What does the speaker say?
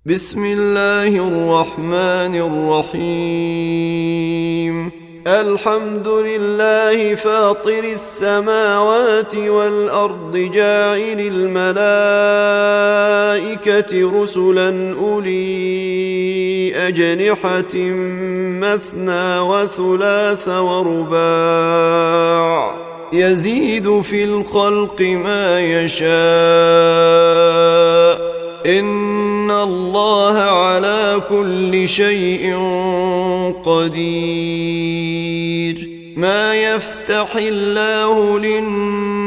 بسم الله الرحمن الرحيم. الحمد لله فاطر السماوات والأرض جاعل الملائكة رسلا أولي أجنحة مثنى وثلاث ورباع يزيد في الخلق ما يشاء إن الله على كل شيء قدير. ما يفتح الله للناس